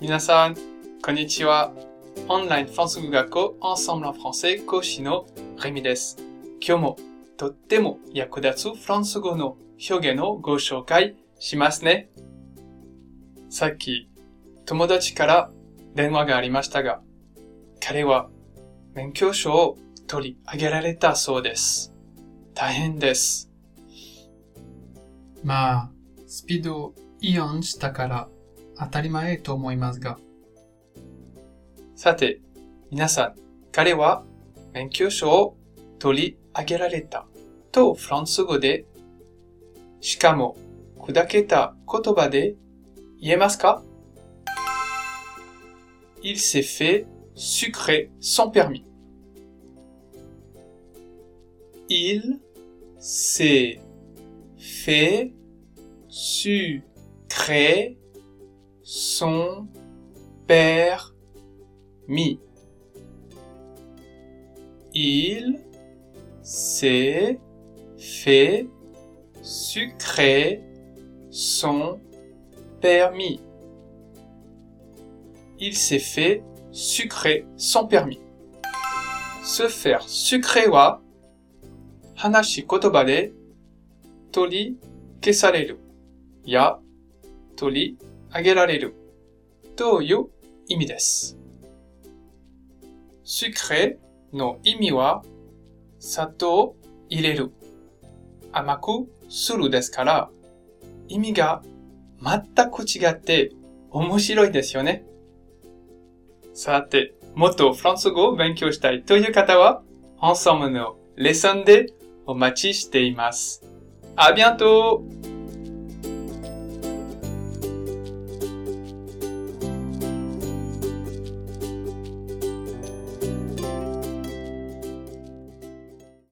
皆さん、こんにちは。オンラインフランス語学校 Ensemble en français 講師のレミです。今日もとっても役立つフランス語の表現をご紹介しますね。さっき友達から電話がありましたが、彼は免許証を取り上げられたそうです。大変です。まあ、スピードをイオンしたから当たり前と思いますが。さて、皆さん、彼は免許証を取り上げられたとフランス語で、しかも砕けた言葉で言えますか？ Il s'est fait sucrer son permis. Il s'est fait sucrer son permis. Il s'est fait sucrer son permis. Il s'est fait sucrer son permis. Se faire sucrer は話し言葉で取り消されるや取り上げられるという意味です。sucré の意味は砂糖を入れる、甘くするですから、意味が全く違って面白いですよね。さて、もっとフランス語を勉強したいという方は、Ensembleのレッスンでお待ちしています。À bientôt!